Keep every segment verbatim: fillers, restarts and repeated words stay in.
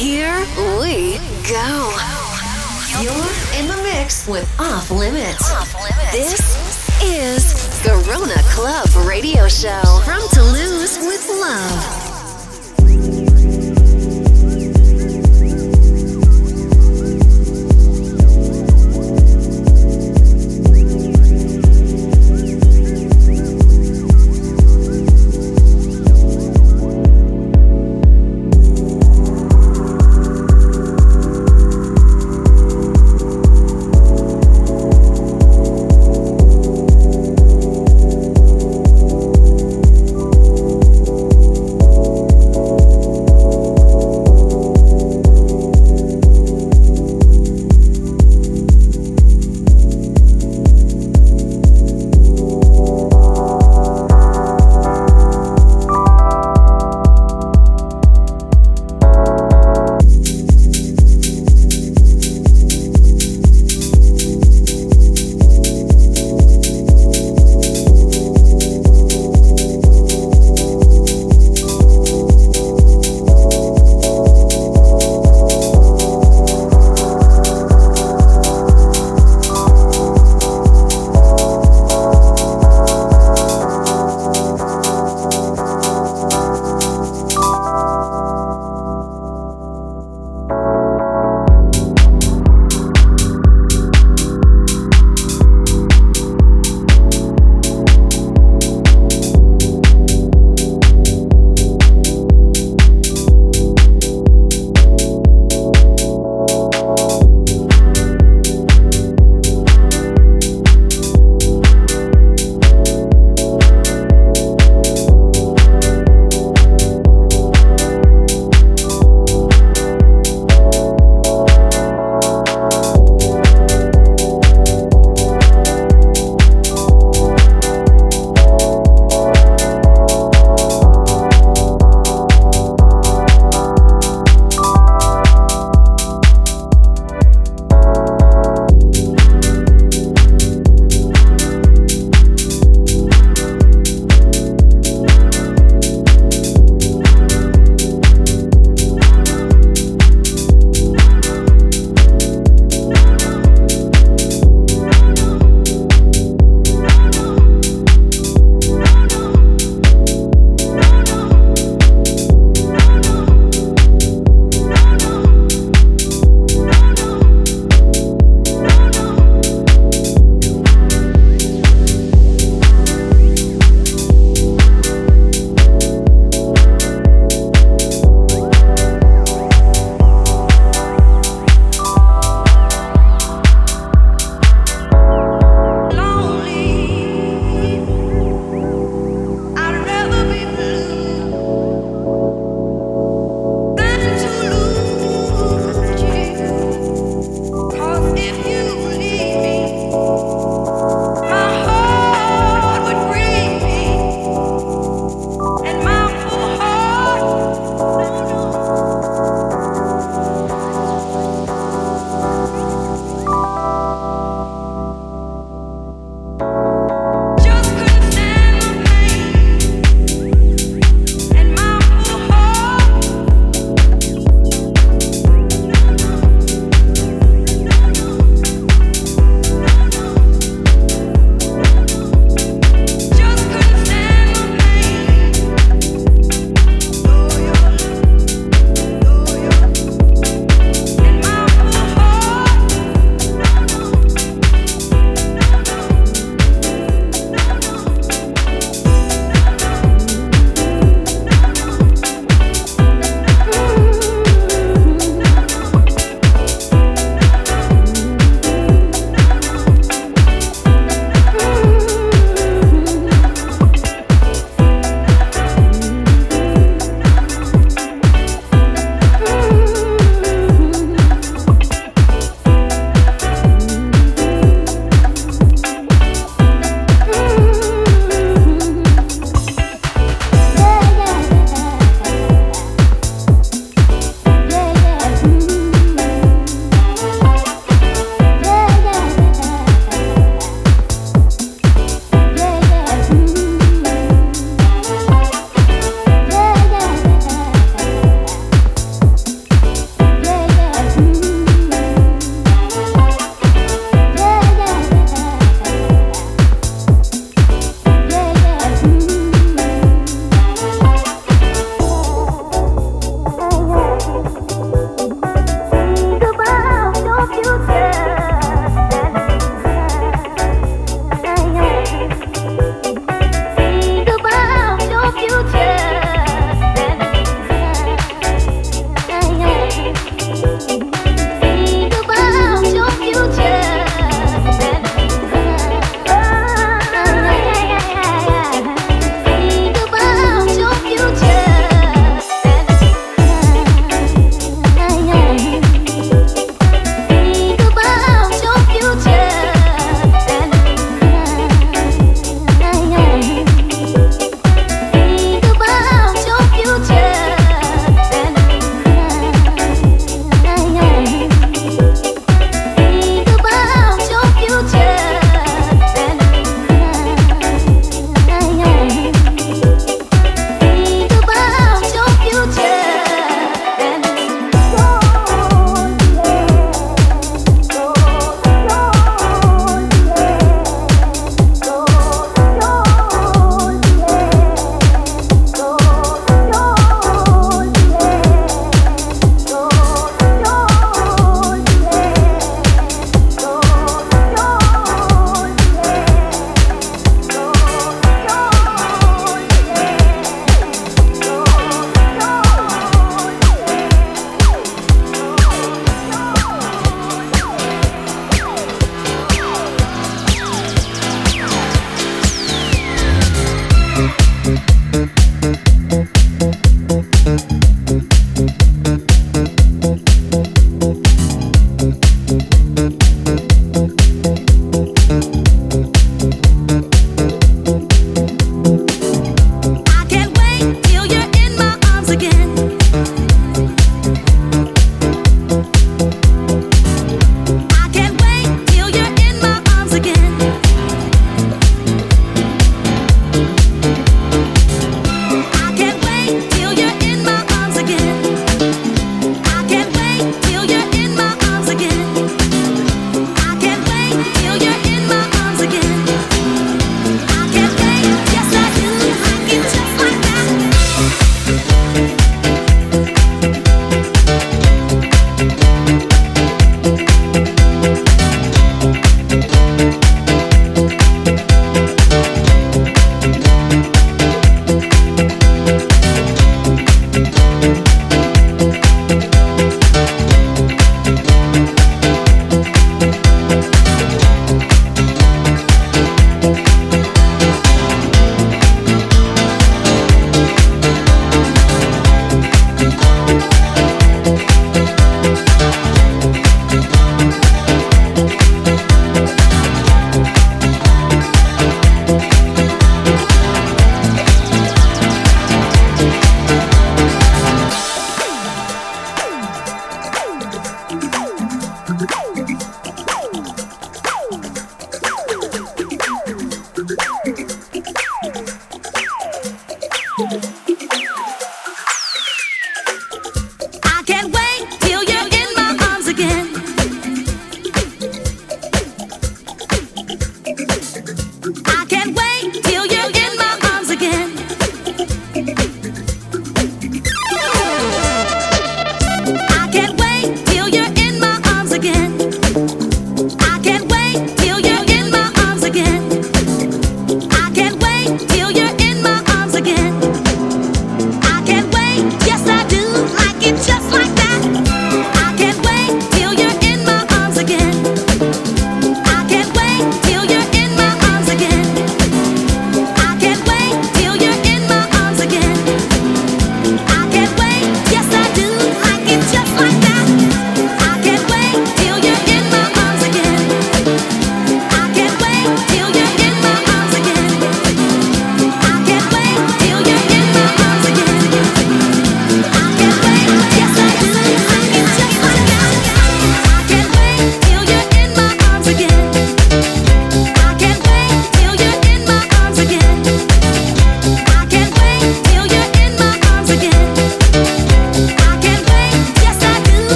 Here we go. You're in the mix with Off Limits. Off Limits. This is Garona Club Radio Show from Toulouse with love.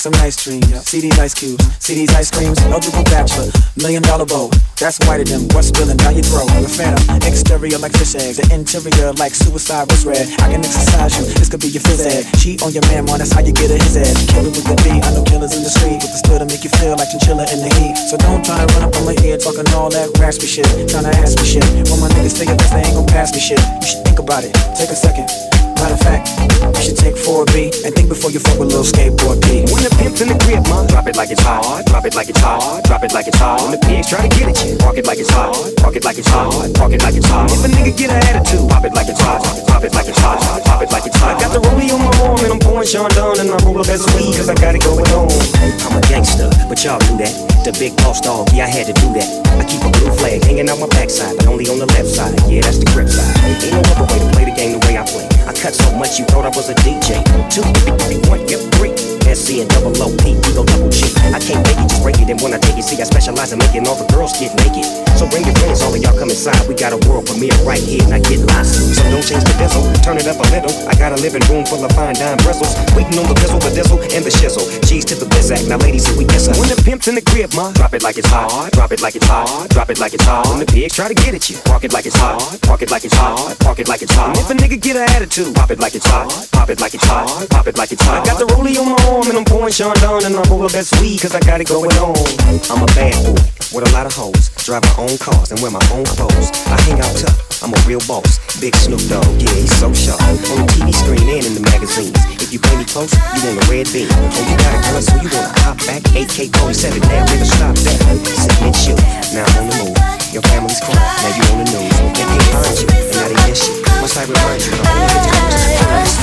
some nice dreams. See these ice cubes, see these ice creams. Eligible bachelor, million dollar bow. That's whiter than what's spilling down your throat. The phantom, exterior like fish eggs, the interior like suicide was red. I can exercise you, this could be your phys ed. Cheat on your man, man, that's how you get a his head. Kill it with the beat, I know killers in the street with the still to make you feel like chinchilla in the heat. So don't try to run up on my ear talking all that raspy shit, trying to ask me shit. When my niggas say your best, they ain't gon' pass me shit. You should think about it, take a second. Matter of fact, you should take four B and think before you fuck with little skateboard P. When the pimp's in the grip, man, drop it like it's hard, drop it like it's hard, drop it like it's hard. When the pigs try to get at you, park it like it's hard, park it like it's hard, park it like it's hard. If a nigga get an attitude, pop it like it's hard, pop it like it's hard, pop it like it's hard. I got the rollie on my arm and I'm pouring Sean Dunn and I roll up as weed cause I got it going on. I'm a gangster, but y'all knew that. The big boss dog, yeah I had to do that. I keep a blue flag hanging out my backside, but only on the left side. Yeah, that's the grip side. Ain't no other way to play the game the way I play. I cut so much you thought I was a D J. Two, three, one, yep, three. S C and double O P, ego double G. I can't make it, just break it. And when I take it, see I specialize in making all the girls get naked. So bring your friends, all of y'all come inside. We got a world premiere right here, and I get lost. So don't change the diesel, turn it up a little. I got a living room full of fine dime bristles. Waiting on the pistol, the diesel, and the shizzle. Cheese to the bizac, now ladies, here we kiss her. When the pimp's in the crib, ma, drop it like it's hard, drop it like it's hard, drop it like it's hard. When the pigs try to get at you, park it like it's hard, park it like it's hard, park it like it's hard. And if a nigga get an attitude, pop it like it's hard, pop it like it's hard, pop it like it's hard. I got the rollie on my arm and I'm pouring Sean Dunn and I roll up that sweet cause I got it going on. I'm a bad boy with a lot of hoes, drive my own cars and wear my own clothes. I hang out tough, I'm a real boss. Big Snoop Dogg, yeah, he's so sharp. On the T V screen and in the magazines. If you pay me close, you want a red beam. Oh, you got a gun, so you wanna hop back. A K forty-seven, now nigga stop that. Sit and shoot, now I'm on the move. Your family's crying, now you on the news. They can't find you, and now they miss you. Must I remind you, I'm only get times. You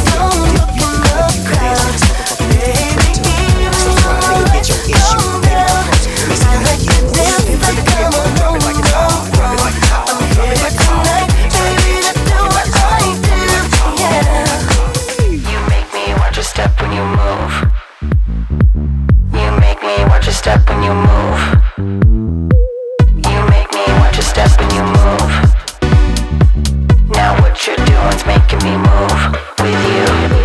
can dance like this motherfucking nigga too. So try, nigga, get your issue. Baby, come close, let me see how you get it. Drop it like it's hard, drop it like it's hard, drop it like it's hard. Step when you move. You make me watch your step when you move. You make me watch your step when you move. Now what you're doing's making me move with you.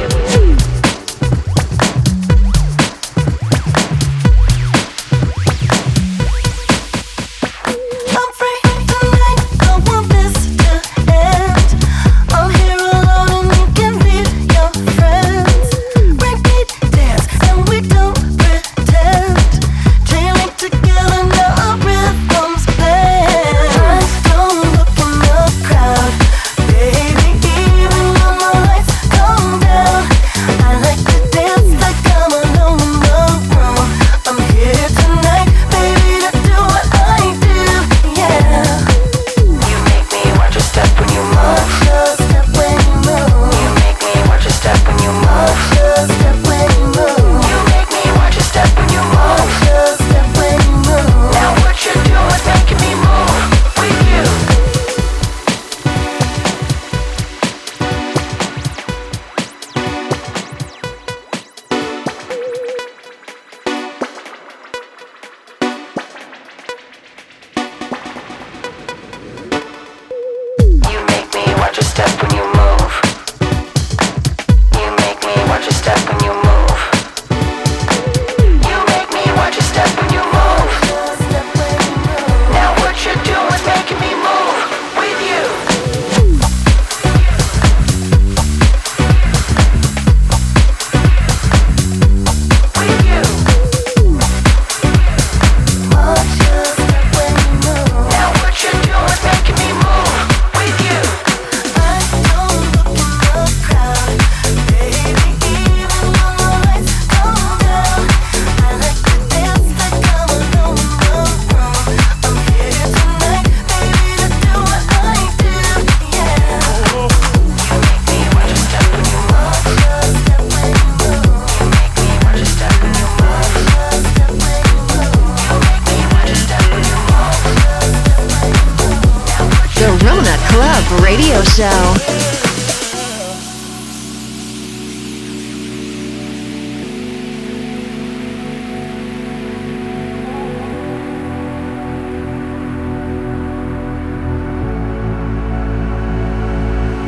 Radio Show.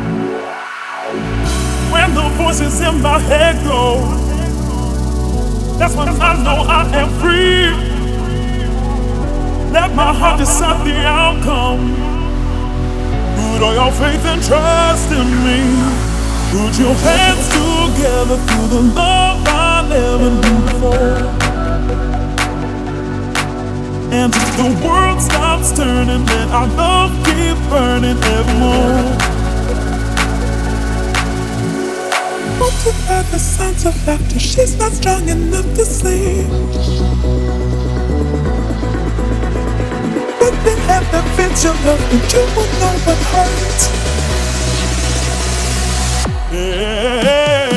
When the voices in my head go, That's when I know I am free. Let my heart decide the outcome. Put all your faith and trust in me. Put your hands together through the love I never knew before. And if the world stops turning, let our love keep burning evermore. Multiply the sounds of laughter, she's not strong enough to sleep. But they have the fence of love, but you will know what hurts. Yeah.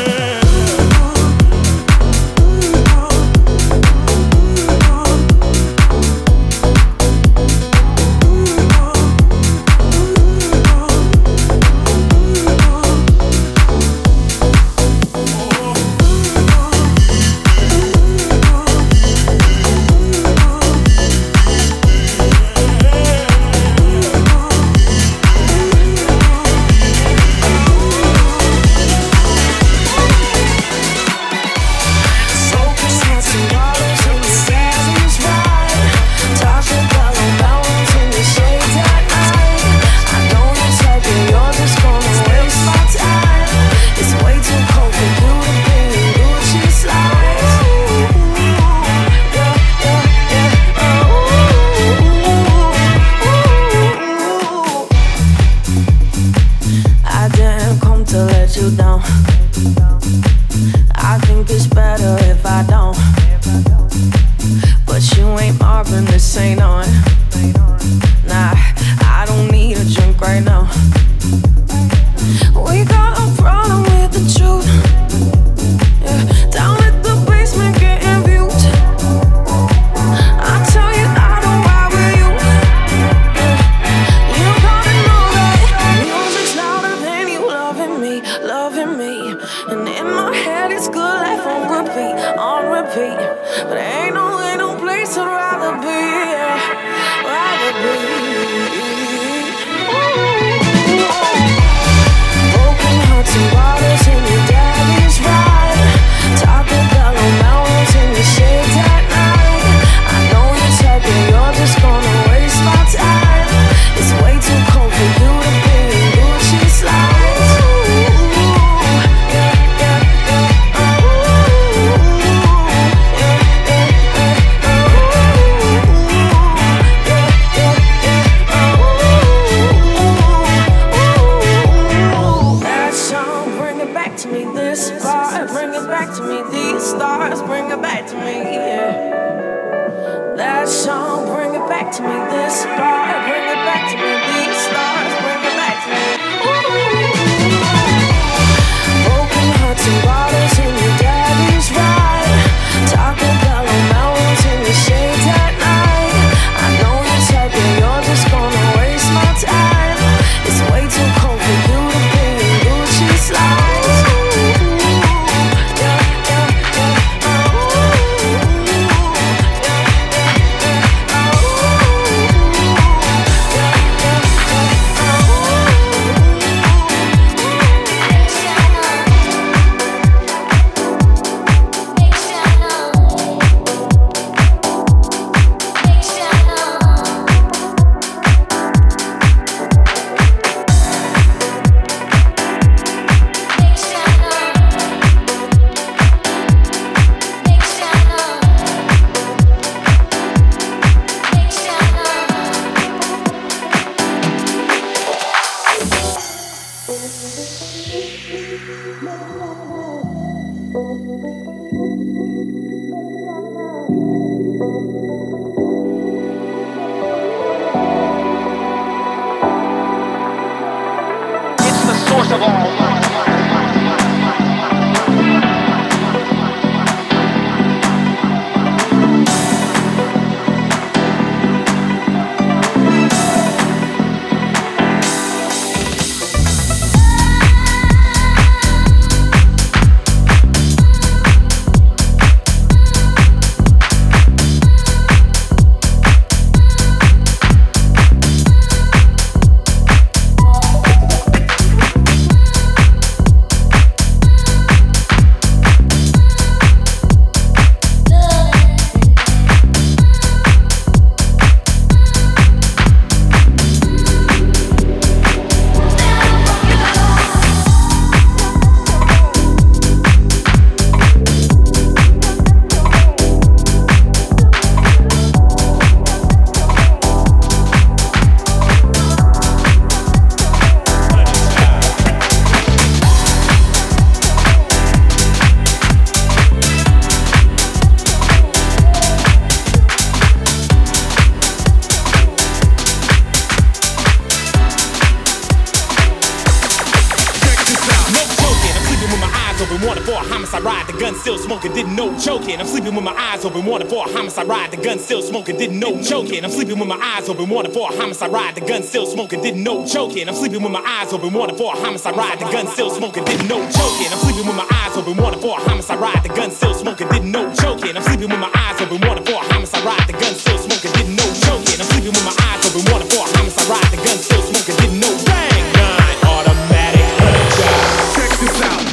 open, wanted for a homicide ride. The gun still smoking, didn't know choking. I'm sleeping with my eyes open, wanted for a homicide ride. The gun still smoking, didn't know choking. I'm sleeping with my eyes open, wanted for a homicide ride. The gun still smoking, didn't know choking. I'm sleeping with my eyes open, wanted for a homicide ride. The gun still smoking, didn't know choking. I'm sleeping with my eyes open, wanted for a homicide ride. The gun still smoking, didn't know choking. I'm sleeping with my eyes open, wanted for a homicide ride. The gun still smoking, didn't know choking. I'm sleeping with my eyes open, wanted for a homicide ride. The gun still smoking, didn't know. Bang, nine, automatic, honey job. Check this out.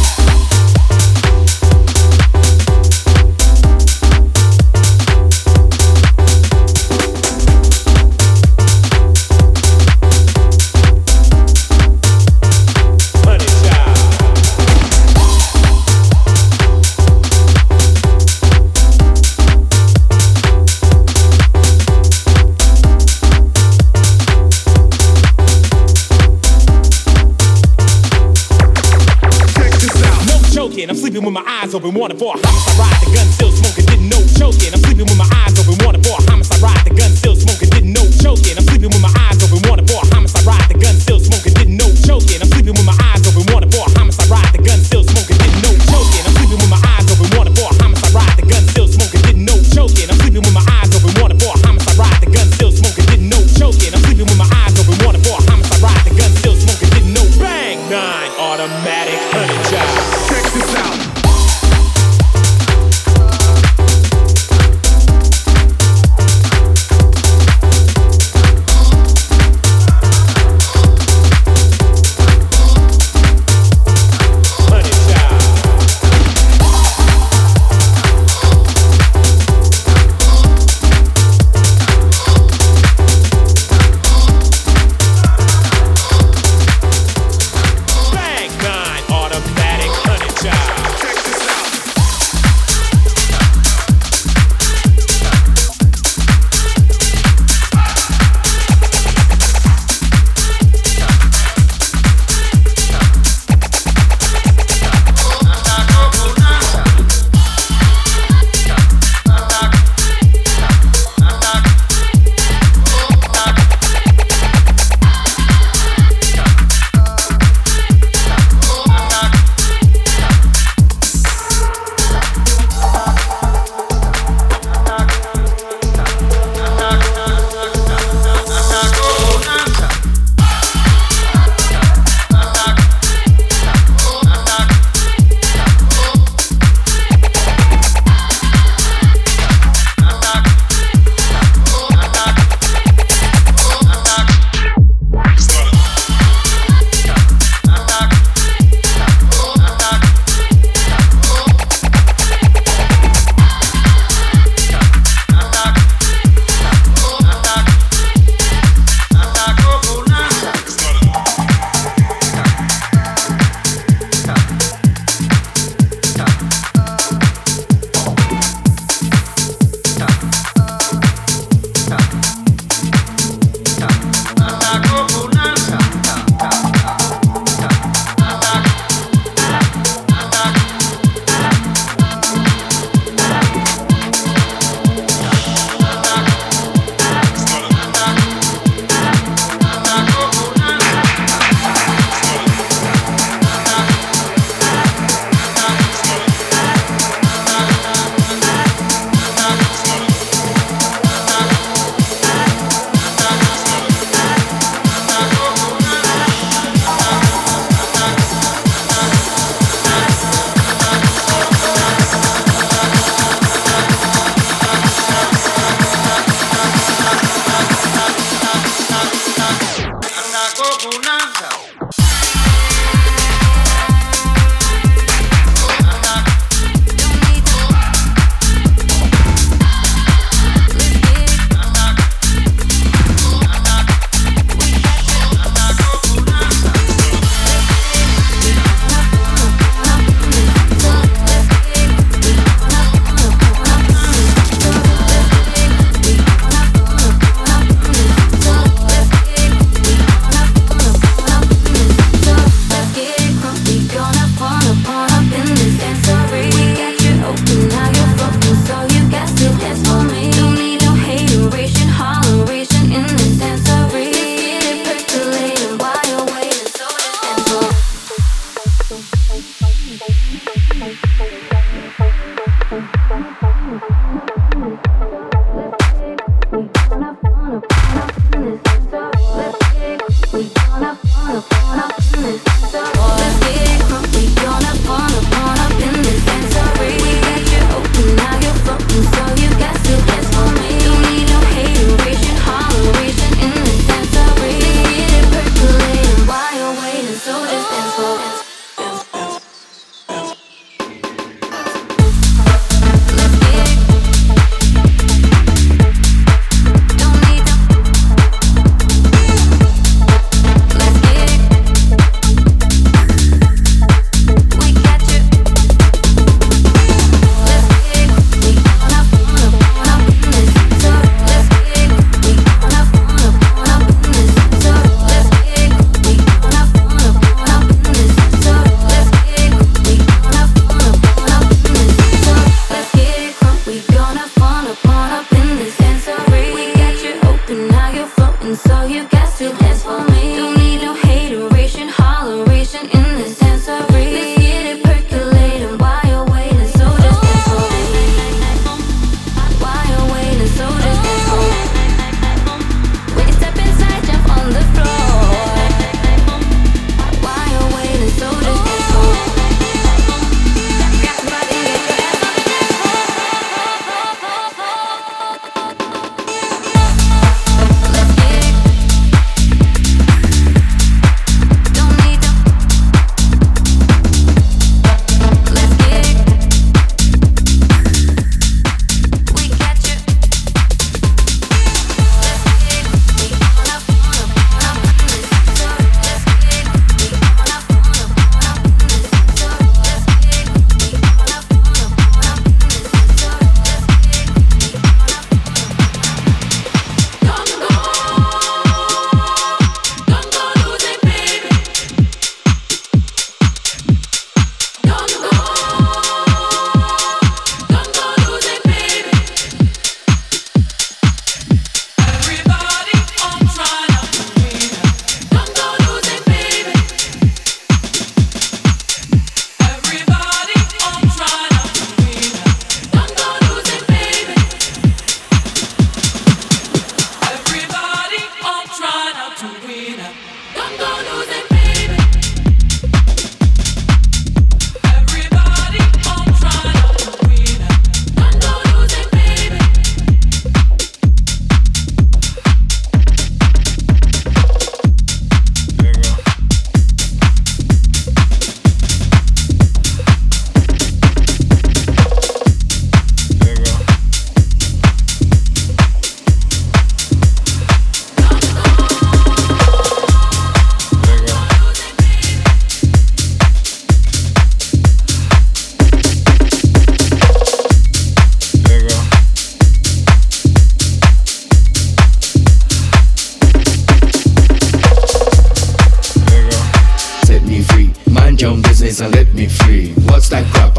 I'm sleeping with my eyes open, wanted for a homicide ride. The gun still smoking, didn't know choking. I'm sleeping with my eyes open, wanted for a homicide ride. The gun still smoking, didn't know choking. I'm sleeping with my eyes open, wanted for a homicide ride. The gun still smoking, didn't know choking. I'm sleeping with my eyes open, wanted for a homicide ride. The gun still smoking, didn't know choking. I'm sleeping with my eyes open, wanted for a homicide ride. The gun still smoking, didn't know choking. I'm sleeping with my eyes open, wanted for a homicide ride. The gun still smoking, didn't know choking. I'm sleeping with my eyes open, wanted for a homicide ride. The gun still smoking, didn't know. Bang, nine, automatic, honey job. Check this out.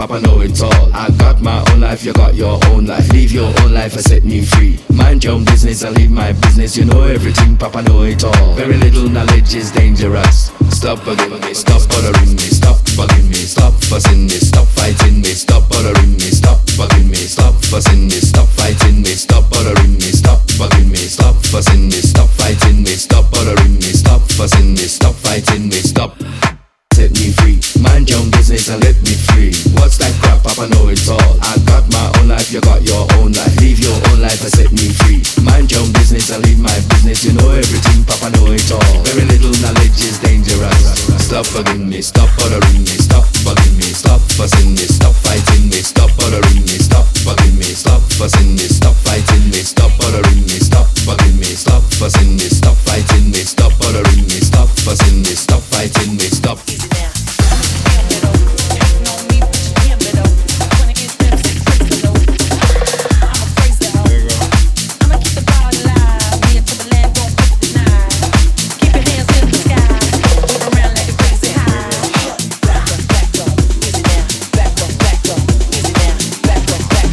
Papa know it all. I got my own life, you got your own life. Leave your own life and set me free. Mind your own business and leave my business. You know everything, Papa know it all. Very little knowledge is dangerous. Stop bugging me, stop bothering me, stop bugging me, stop fussing me, stop fighting me, stop bothering me, stop bugging me, stop fussing me, stop fighting me, stop bothering me, stop bugging me, stop fussing me, stop fighting me, stop bothering me, stop fussing me, stop fighting me, stop. Set me free, mind your own business and let me free. What's that crap, Papa know it all. I got my own life, you got your own life. Leave your own life and set me free. Mind your own business and leave my business. You know everything, Papa know it all. Very little knowledge is dangerous. Stop bugging me, stop bothering me, stop bugging me, stop fussing me, stop fighting me, stop bothering me, stop bugging me, stop fussing me, stop fighting me, stop bothering me, stop bugging me, stop fussing me, stop fighting me, stop bothering me, stop fussing me, stop fighting me, stop.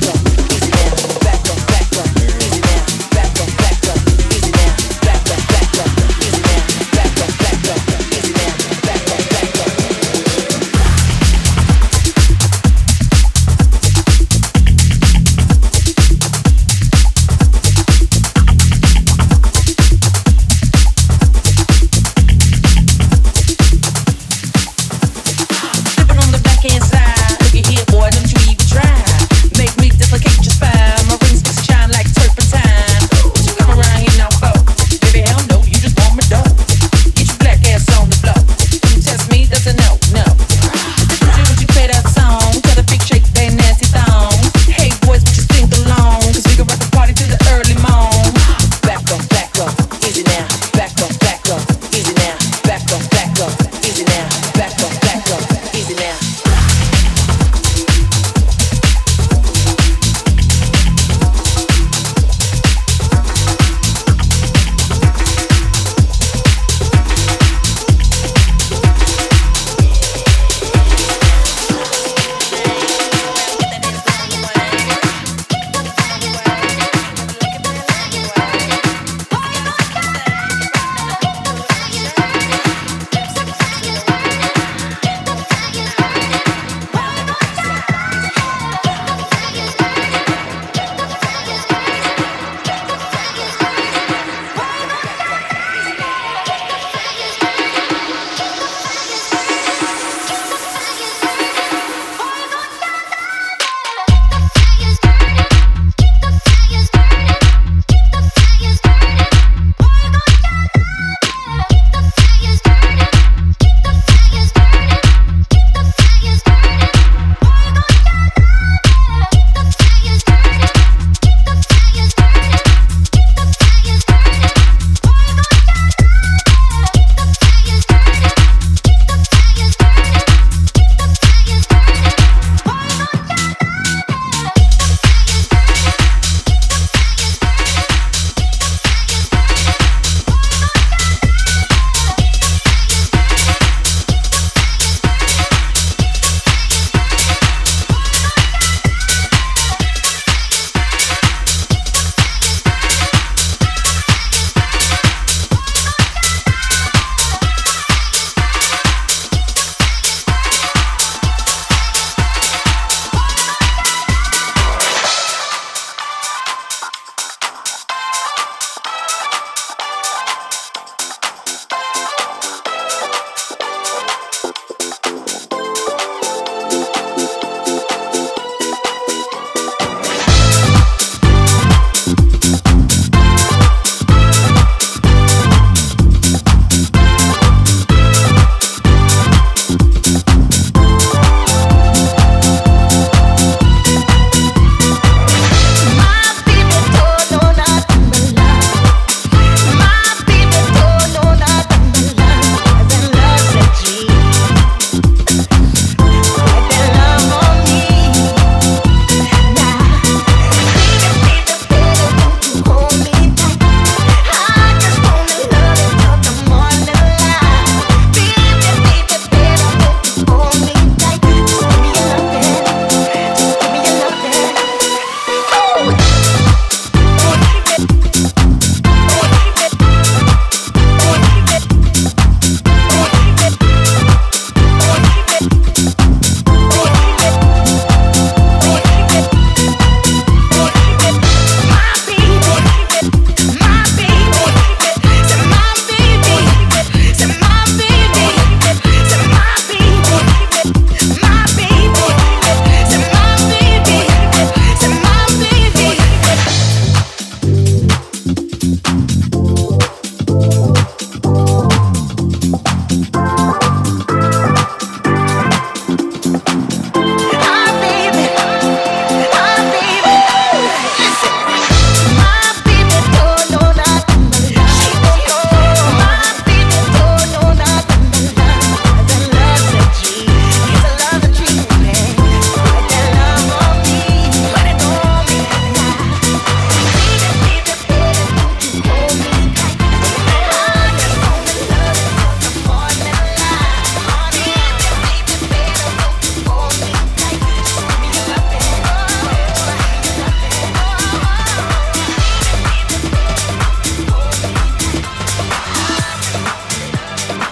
Back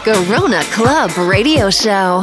Garona Club Radio Show.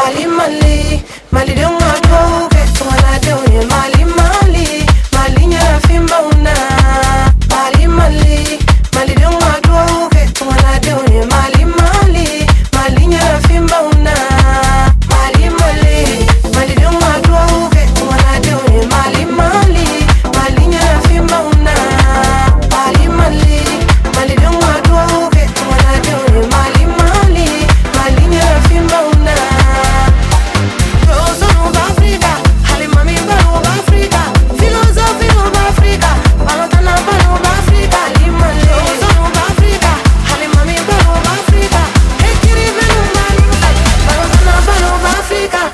Mali, Mali, Mali de mwato Ketwana de Mali, Mali, Mali nyara fimba una Mali, Mali, Mali de mwato Ketwana de Mali, Mali, Mali nyara fimba una Mali, Mali, Mali de mwato Ketwana de Mali, Mali, Mali nyara fimba una Mali, Mali, Mali de mwato Ketwana de Mali, Mali, Mali nyara fimba una Rosa of Africa, Halimami Baro of Africa, Philosophy of Africa, Balotana Baro of Africa, Limale, Rosa of Africa, Halimami Baro of Africa, Ekiri Baro of Africa, Balotana Baro of Africa.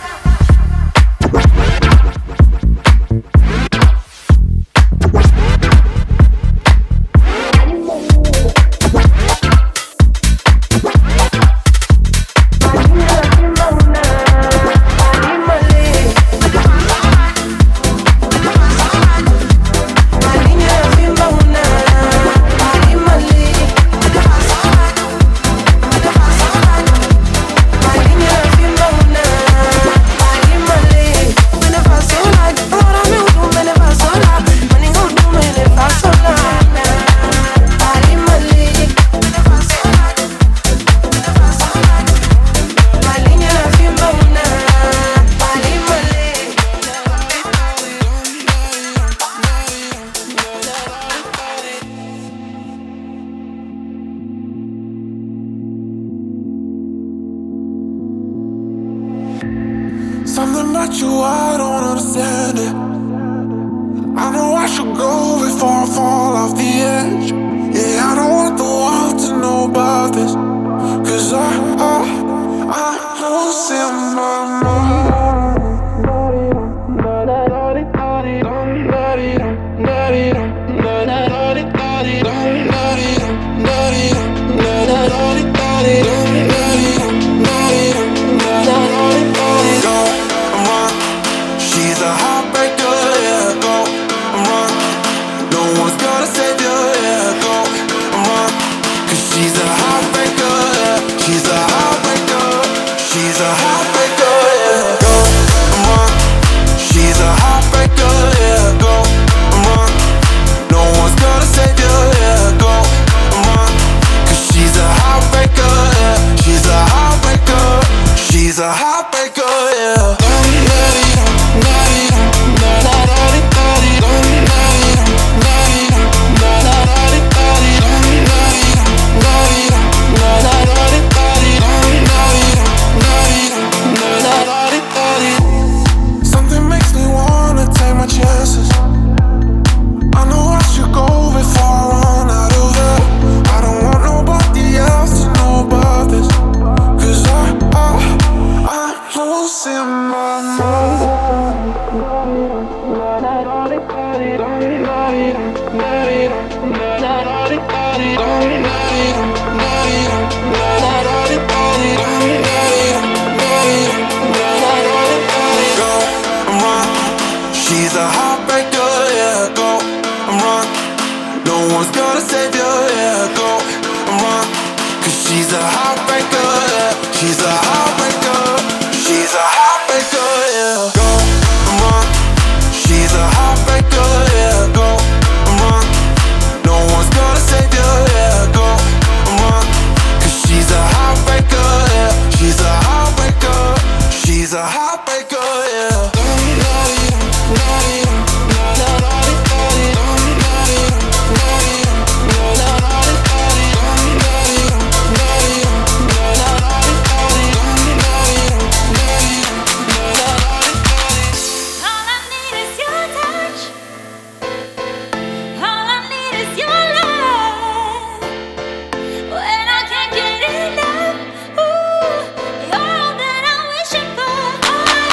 Something about you, I don't understand it. I know I should go before I fall off the edge. Yeah, I don't want the world to know about this. Cause I, I, I'm losing my mind. She's a heartbreaker, yeah, go, run. No one's gonna save you, yeah, go, run. Cause she's a heartbreaker, yeah. She's a heartbreaker. She's a heartbreaker, yeah, go, run. She's a heartbreaker, yeah, go, run. No one's gonna save you, yeah, go, run. Cause she's a heartbreaker, yeah. She's a heartbreaker. She's a heartbreaker, yeah. Something makes me wanna take my chances. I know I should go before I run out of air. I don't want nobody else to know about this. Cause I, I, I'm losing my mind. Go, run. She's a heartbreaker, yeah, go, run. No one's gonna save you, yeah, go, run. Cause she's a heartbreaker, yeah. She's a heartbreaker. She's a heartbreaker, yeah. Go, run. She's a heartbreaker, yeah, go, run. No one's gonna save you, yeah, go, run. Cause she's a heartbreaker, yeah. She's a heartbreaker. She's a heartbreaker, yeah. When I can't get enough, ooh, you're all that I'm wishing for.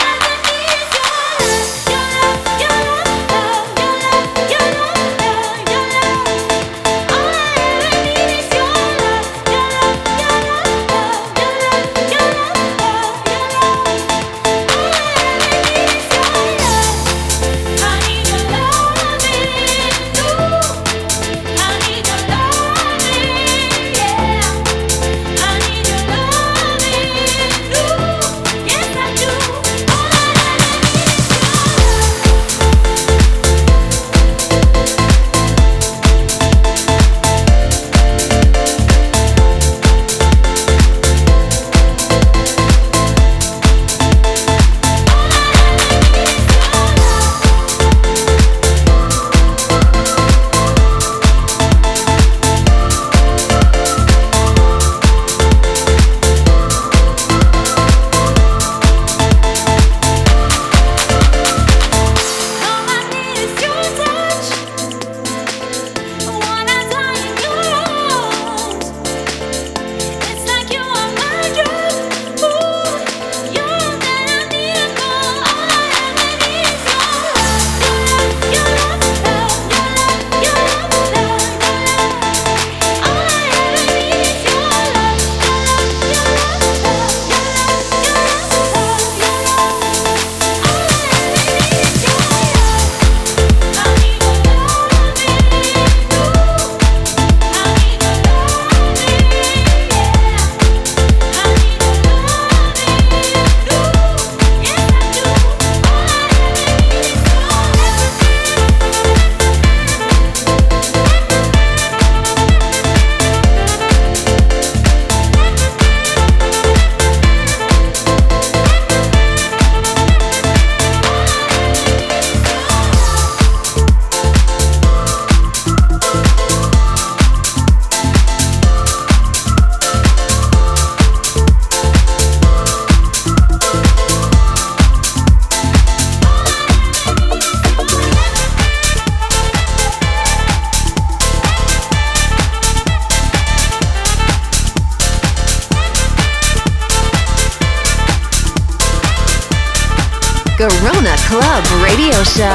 Garona Club Radio Show.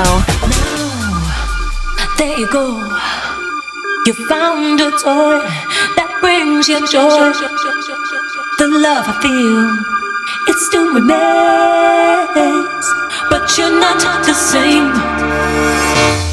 There you go. You found a toy that brings you joy. The love I feel, it still remains, but you're not the same.